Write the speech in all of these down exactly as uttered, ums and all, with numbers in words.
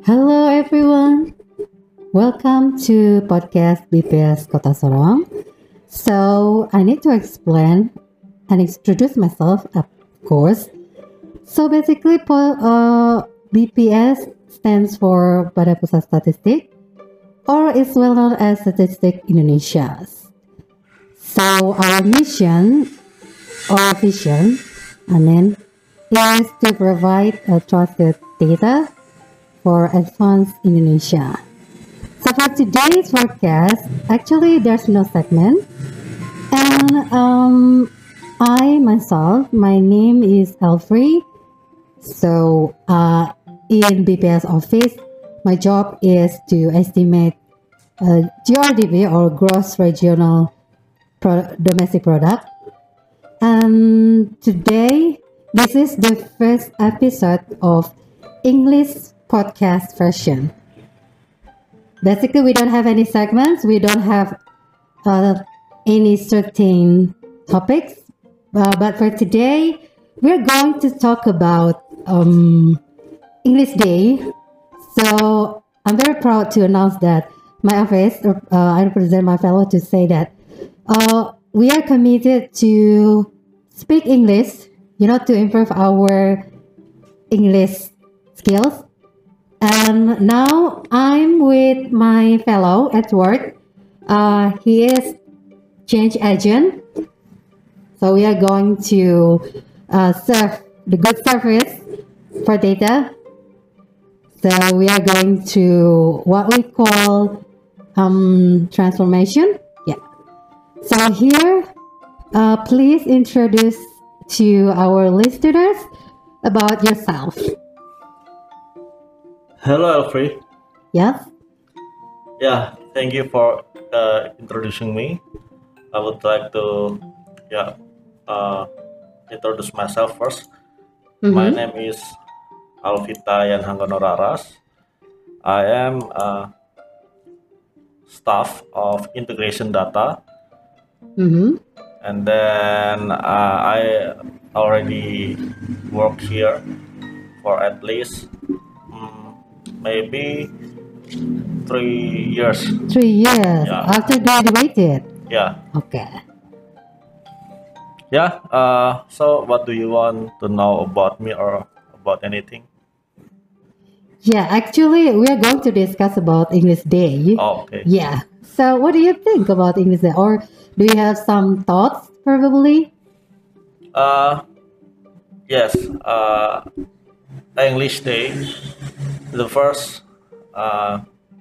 Hello everyone, welcome to podcast B P S Kota Sorong. So I need to explain and introduce myself, of course. So basically, po- uh, B P S stands for Badan Pusat Statistik, or is well known as Statistik Indonesia. So our mission or vision, I mean, is to provide a trusted data for advanced Indonesia. So for today's podcast, actually there's no segment, and um, I myself, my name is Elfrey. So uh, in B P S office, my job is to estimate uh, G R D P or gross regional pro- domestic product. And today, this is the first episode of English podcast version. Basically, we don't have any segments. We don't have uh, any certain topics. Uh, but for today, we're going to talk about um, English Day. So I'm very proud to announce that my office, uh, I represent my fellow to say that uh, we are committed to speak English, you know, to improve our English skills. And now I'm with my fellow at work. Uh, he is change agent. So we are going to uh, serve the good service for data. So we are going to what we call um, transformation. Yeah. So here, uh, please introduce to our listeners about yourself. Hello, Alfred. Yes. Yeah, thank you for uh, introducing me. I would like to, yeah, uh, introduce myself first. My Mm-hmm. name is Alvita Yan Hanggono Raras. I am uh, staff of integration data, Mm-hmm. and then uh, I already work here for at least mm, maybe three years. Three years Yeah, after graduated. yeah. Okay. Yeah, uh, so what do you want to know about me or about anything? Yeah, actually, we are going to discuss about English Day. Oh, okay. Yeah. So, what do you think about English Day, or do you have some thoughts, probably? Uh, yes, uh, English Day. The first, uh,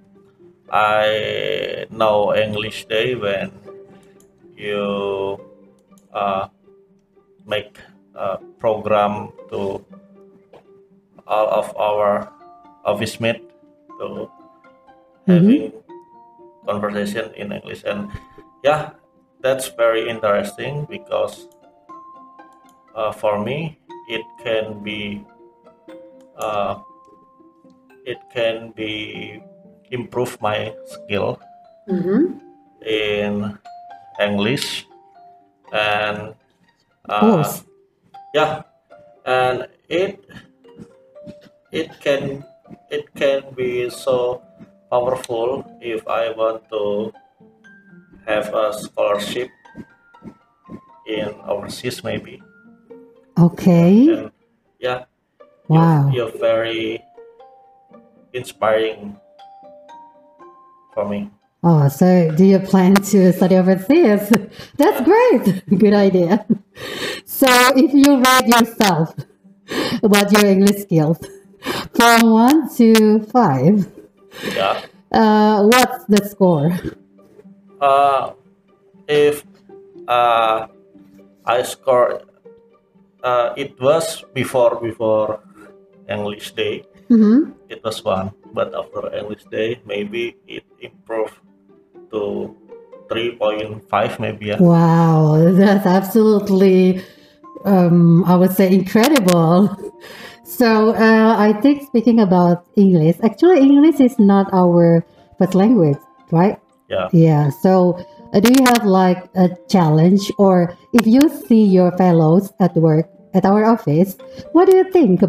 I know English Day when you uh, make a program to all of our office mate to Mm-hmm. having conversation in English, and yeah, that's very interesting because uh, for me it can be uh, it can be improve my skill Mm-hmm. in English, and Of uh, course. yeah, and it it can it can be so powerful if I want to have a scholarship in overseas maybe. Okay. And yeah, you're Wow. you're very inspiring for me. Oh, so do you plan to study overseas? That's great. Good idea. So, if you rate yourself about your English skills from one to five, Yeah. uh, what's the score? Uh, if uh, I score, uh, it was before before English Day. Mm-hmm. It was one, but after English Day, maybe it improved to three point five, maybe. Yeah. Wow, that's absolutely, um, I would say, incredible. So, uh, I think speaking about English, actually, English is not our first language, right? Yeah. Yeah. So, uh, do you have like a challenge, or if you see your fellows at work at our office, what do you think about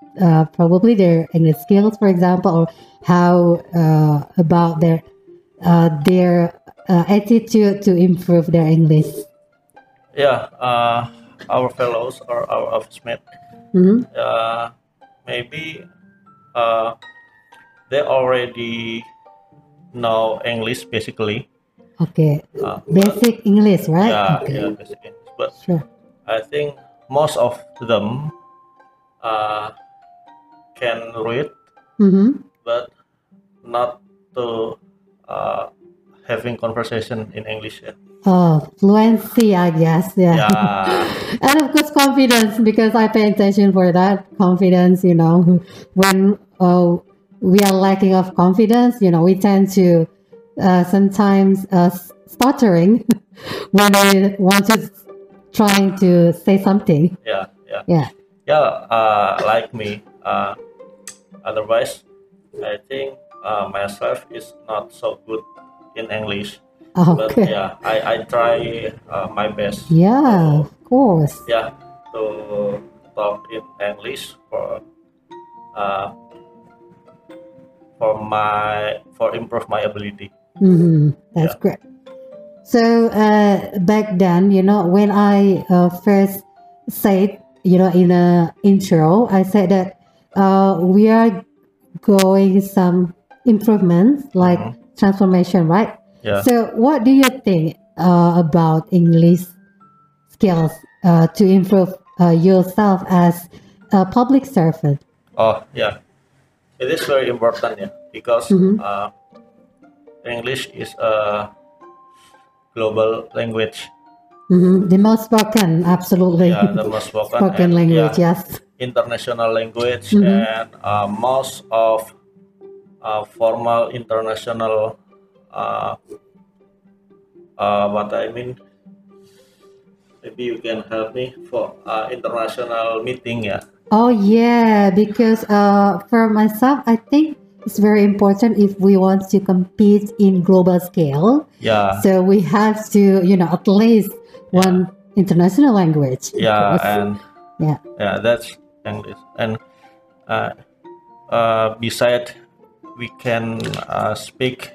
uh, probably their English skills, for example, or how uh, about their uh, their uh, attitude to improve their English. Yeah, uh, our fellows or our office mate, Hmm. uh, maybe uh, they already know English basically. Okay, Uh, but basic English, right? yeah, Okay, yeah, basic English. But sure. I think most of them uh, can read, Mm-hmm. but not to uh, having conversation in English. Yeah, Oh, fluency, I guess. Yeah. yeah, And of course, confidence, because I pay attention for that. Confidence, you know, when uh, we are lacking of confidence, you know, we tend to uh, sometimes uh, stuttering when we want to trying to say something. yeah, yeah, Yeah. yeah. Uh, like me. Uh, otherwise, I think uh, myself is not so good in English. But Okay. yeah, I, I try uh, my best Yeah, to of course. yeah to talk in English for uh, for my for improve my ability. Hmm. That's Yeah. great. So uh, back then, you know, when I uh, first said, you know, in a intro, I said that uh, we are going some improvements like Mhm. transformation, right? Yeah. So what do you think uh, about English skills uh, to improve uh, yourself as a public servant? Oh yeah, it is very important. Yeah, because Hmm. uh, English is a global language. Hmm. The most spoken, absolutely. Yeah, the most spoken Spoken and language, yeah, yes. international language, Hmm. and uh, most of uh, formal international uh, uh, what I mean, maybe you can help me for uh, international meeting. Yeah, Oh yeah, because uh, for myself, I think it's very important if we want to compete in global scale. yeah, So we have to, you know, at least yeah, one international language, of yeah, course. and Yeah. yeah, that's English. And uh, uh, beside, we can uh, speak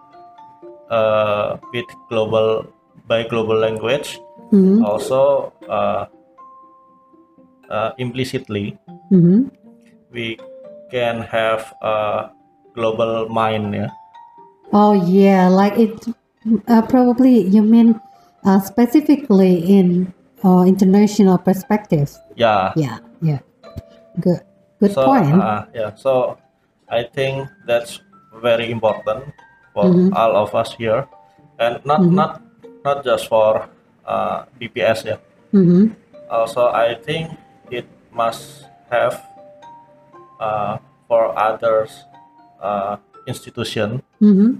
uh, with global by global language. Mm-hmm. Also, uh, uh, implicitly, Mm-hmm. we can have a global mind. Yeah, Oh yeah, like it. Uh, probably you mean uh, specifically in uh, international perspectives. yeah. Yeah. Yeah. Good. Good So point. uh, yeah, so I think that's very important for Mm-hmm. all of us here, and not Mm-hmm. not not just for uh, B P S. Yeah, Mm-hmm. also I think it must have uh, for others uh, institution Mm-hmm.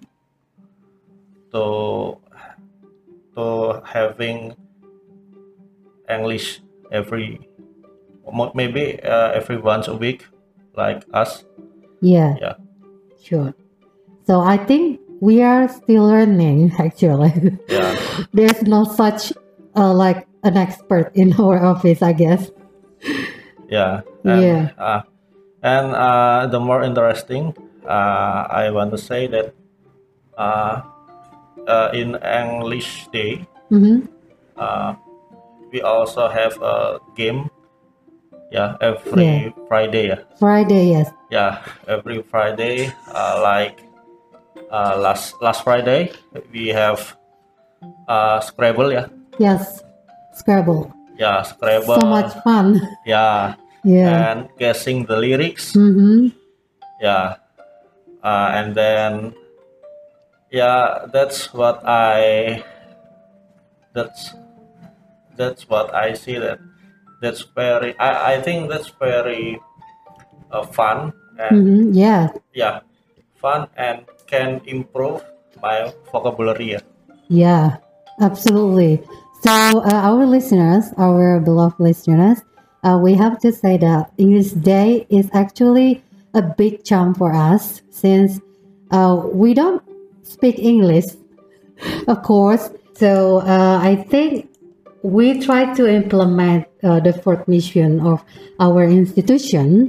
to to having English every mo- maybe uh, every once a week, like us. Yeah. Yeah, Sure. So I think we are still learning actually. yeah, There's no such uh, like an expert in our office, I guess. yeah, and Yeah. uh, and uh, the more interesting, uh, I want to say that uh, uh, in English Day, Mm-hmm. uh, we also have a game. Yeah, Yeah. every Friday. Yeah, Friday, yes. yeah, every Friday. Uh, like uh, last last Friday, we have uh, Scrabble. Yeah, Yes. Scrabble. yeah, So much Scrabble. fun. Yeah, Yeah. and guessing the lyrics. Mm-hmm. Yeah, uh, and then yeah, that's what I that's that's what I see that that's very I, I think that's very uh, fun and Mm-hmm. Yeah. yeah, fun and can improve my vocabulary. Yeah. Yeah. Absolutely. So uh, our listeners, our beloved listeners, uh, we have to say that English Day is actually a big jump for us since uh, we don't speak English, of course. So uh, I think we try to implement uh, the fourth mission of our institution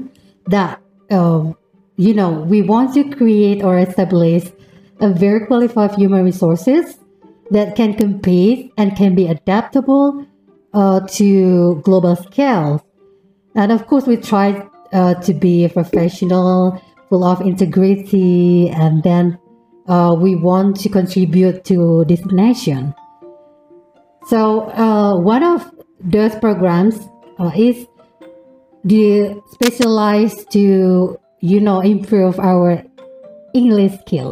that um, you know we want to create or establish a very qualified human resources that can compete and can be adaptable uh, to global scale. And of course, we try uh, to be a professional, full of integrity, and then uh, we want to contribute to this nation. So uh, one of those programs uh, is the specialized to you know improve our English skills.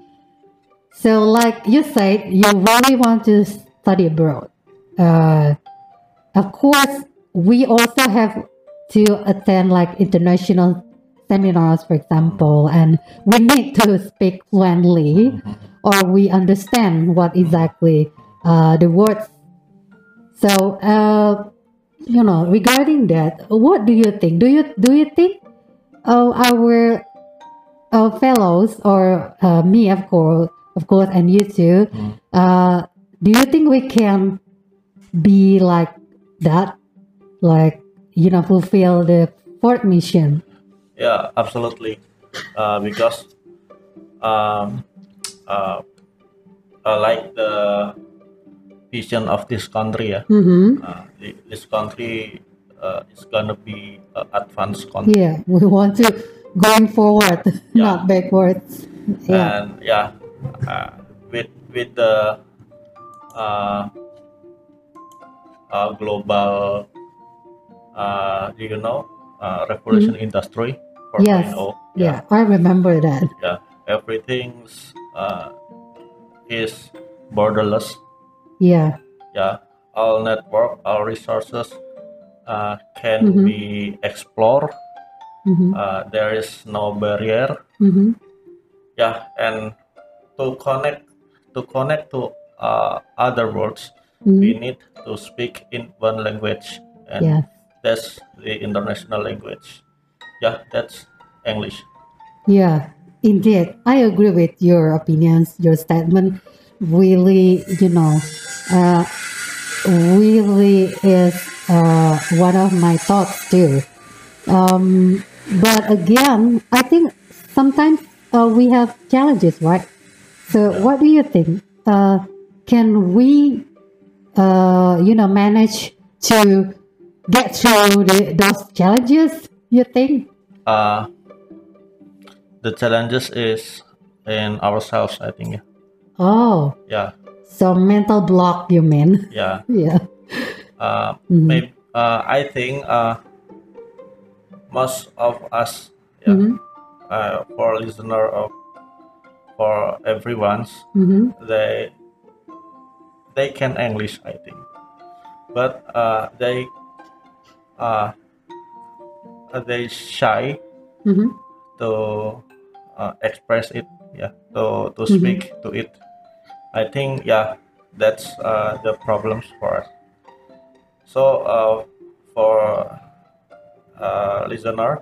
So like you said, you really want to study abroad. Uh, of course, we also have to attend like international seminars, for example, and we need to speak fluently or we understand what exactly uh, the words. So, uh, you know, regarding that, what do you think? Do you do you think uh, our uh, fellows or uh, me, of course, of course, and you too, Mm. uh, do you think we can be like that, like you know, fulfill the fourth mission? Yeah, absolutely. Uh, because um, uh, uh, like the vision of this country, yeah, Mm-hmm. uh, thi- this country uh, is gonna be uh, advanced country, Yeah, we want to going forward, yeah, not backwards. Yeah. and yeah, uh, with with the uh, uh, global, uh, you know, uh, revolution Mhm. industry Yes. 4.0, Yeah, yeah, I remember that. yeah, everything's uh, is borderless, Yeah. yeah, all network, all resources uh, can Mm-hmm. be explored. Mm-hmm. Uh, there is no barrier, Mm-hmm. yeah, and to connect to connect to uh, other worlds, we Mm-hmm. need to speak in one language, and Yeah. that's the international language. Yeah, that's English. Yeah. Indeed, I agree with your opinions. Your statement really, you know, uh, really is uh, one of my thoughts too. Um, but again, I think sometimes uh, we have challenges, right? So, Yeah. what do you think? Uh, can we, uh, you know, manage to get through the, those challenges? You think? Uh, the challenges is in ourselves, I think. Oh, Yeah, so mental block, you mean? yeah. Yeah. Uh, Mm-hmm. maybe uh, I think uh, most of us, yeah, Mm-hmm. uh, for listener of for everyone's, Mm-hmm. they they can English, I think, but uh, they uh, they shy Mm-hmm. to uh, express it, yeah, to to Mm-hmm. speak to it. I think, yeah, that's uh, the problems for us. So uh, for uh, listener,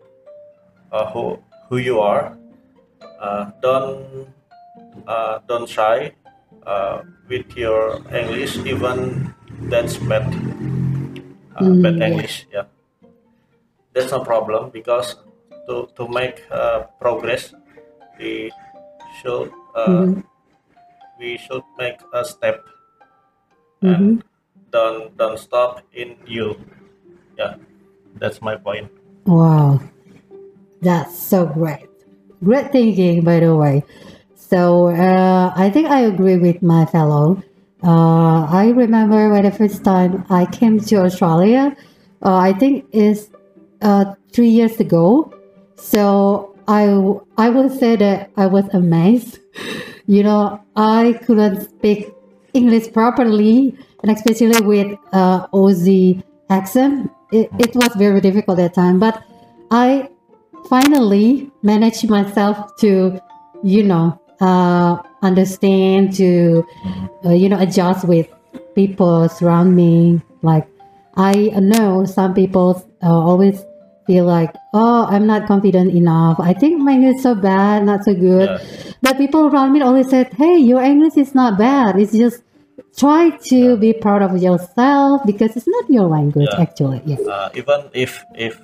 uh, who who you are, uh, don't uh, don't shy uh, with your English, even that's bad, uh, bad Mm, yeah. English. Yeah, that's no problem because to to make uh, progress, we should uh, Mm-hmm. we should make a step Mm-hmm. and don't don't stop in you. Yeah, that's my point. Wow, that's so great. Great thinking, by the way. So uh, I think I agree with my fellow. Uh, I remember when the first time I came to Australia, uh, I think is uh, three years ago. So I I will say that I was amazed. You know, I couldn't speak English properly, and especially with uh, Aussie accent. It, it was very difficult at that time, but I finally managed myself to, you know, uh, understand, to, uh, you know, adjust with people around me. Like, I know some people uh, always feel like, oh, I'm not confident enough. I think my English is so bad, not so good. Yeah, But people around me always said, hey, your English is not bad. It's just try to yeah, be proud of yourself because it's not your language, yeah. actually. Yeah. Uh, even if if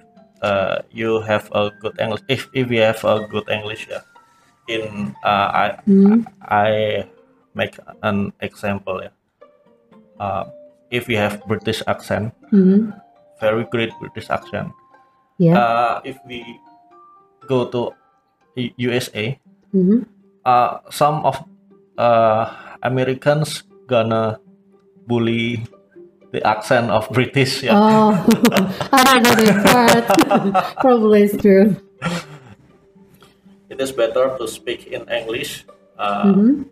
uh, you have a good English. If if you have a good English, yeah. In uh, I Mhm. I make an example, yeah. Uh, if you have British accent, Mhm. very great British accent. Yeah. Uh, if we go to U- USA, Mhm. uh, some of uh, Americans gonna bully the accent of British. Yeah, Oh, I don't know this part. Probably it's true. it is better to speak in English uh, Mhm.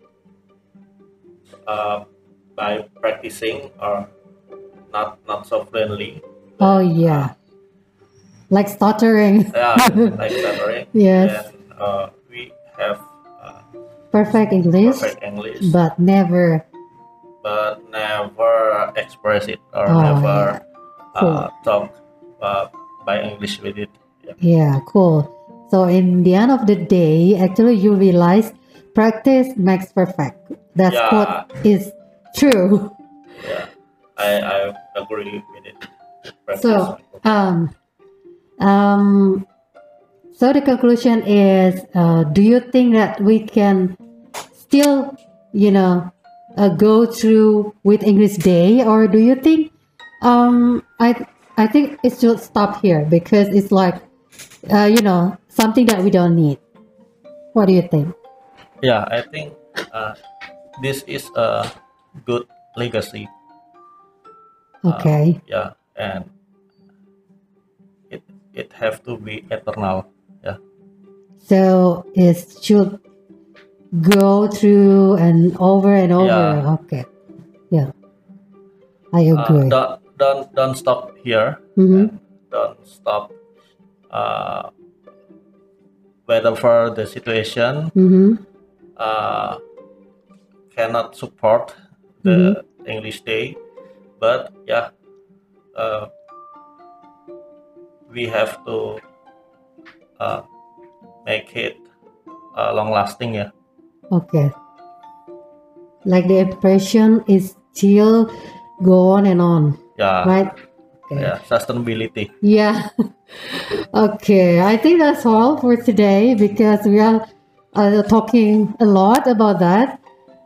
uh, by practicing or not not so friendly. Oh Then uh, yeah, like stuttering. yeah, like stuttering. Yes, Then uh, we have uh, perfect English, perfect English, but never. but never express it or Oh never yeah, uh, cool. talk uh, by English with it. Yeah. Yeah, cool. So in the end of the day, actually, you realize practice makes perfect. That Yeah, quote is true. yeah, I, I agree with it. Practice. So, um, um, so the conclusion is: uh, do you think that we can still, you know, uh, go through with English Day, or do you think, um, I, I think it should stop here because it's like, uh, you know, something that we don't need. What do you think? Yeah, I think uh, this is a good legacy. Uh, Okay. yeah, and it it have to be eternal. Yeah, So it should go through and over and over. yeah. Okay. Yeah, I Uh, agree. don't don't don't stop here Mm-hmm. and don't stop. Uh, whatever the situation, Mm-hmm. uh, cannot support Mm-hmm. the English Day, but yeah, uh, we have to uh, make it uh, long lasting. Yeah, Okay. Like the impression is still go on and on, yeah, right? Okay. yeah. Sustainability. Yeah. Okay. I think that's all for today because we are uh, talking a lot about that.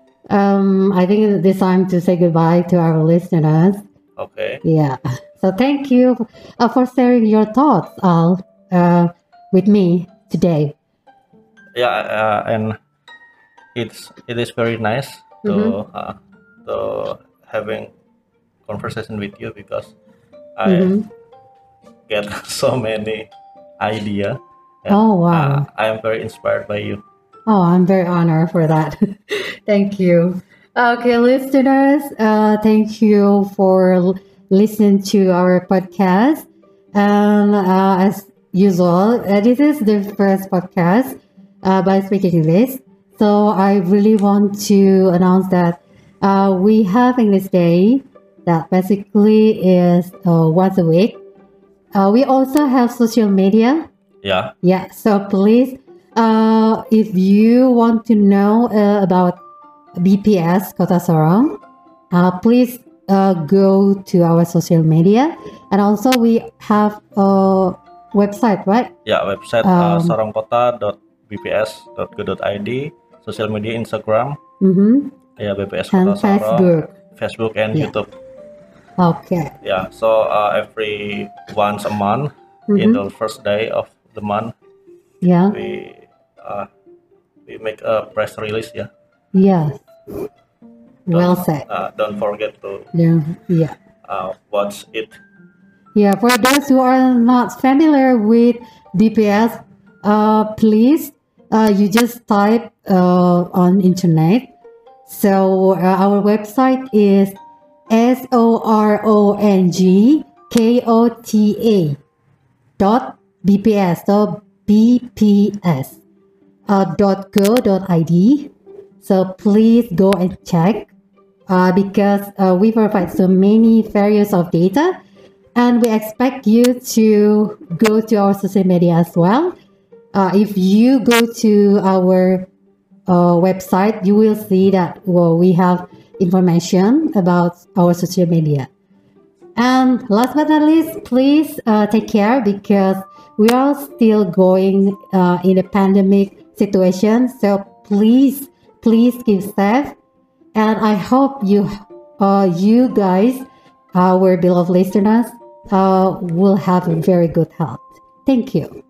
Um, I think it's time to say goodbye to our listeners. Okay. Yeah. So thank you uh, for sharing your thoughts, Al, uh, with me today. Yeah, uh, and it's it is very nice to Mm-hmm. uh, to having conversation with you because I Mm-hmm. get so many idea and Oh, uh, wow. I am very inspired by you. Oh, I'm very honored for that. Thank you. Okay, listeners, uh, thank you for l- listening to our podcast. And uh, as usual, uh, this is the first podcast uh, by Speaking English. So I really want to announce that uh, we have English Day that basically is uh, once a week. Uh, we also have social media. Yeah, Yeah, so please, uh, if you want to know uh, about B P S Kota Sorong, uh, please uh, go to our social media. And also, we have a website, right? yeah. Website uh, Um, sarongkota dot b p s dot go dot i d. Social media Instagram, mhm. yeah, B P S Kota And Sorong, Facebook. Facebook and Yeah. YouTube. Okay. Yeah, so uh, every once a month, in Mm-hmm. the first day of the month, Yeah. we uh, we make a press release. Yeah, Yeah. don't Well said. uh, don't forget to Yeah. Yeah. uh, watch it. Yeah, for those who are not familiar with B P S, uh, please, uh, you just type uh, on internet. So uh, our website is S O R O N G K O T A dot B P S. So B P S uh, dot go dot I D. So please go and check uh, because uh, we provide so many various of data and we expect you to go to our social media as well. Uh, if you go to our uh, website, you will see that well, we have information about our social media. And last but not least, please uh, take care because we are still going uh, in a pandemic situation. So please, please keep safe. And I hope you, uh, you guys, our beloved listeners, uh, will have a very good health. Thank you.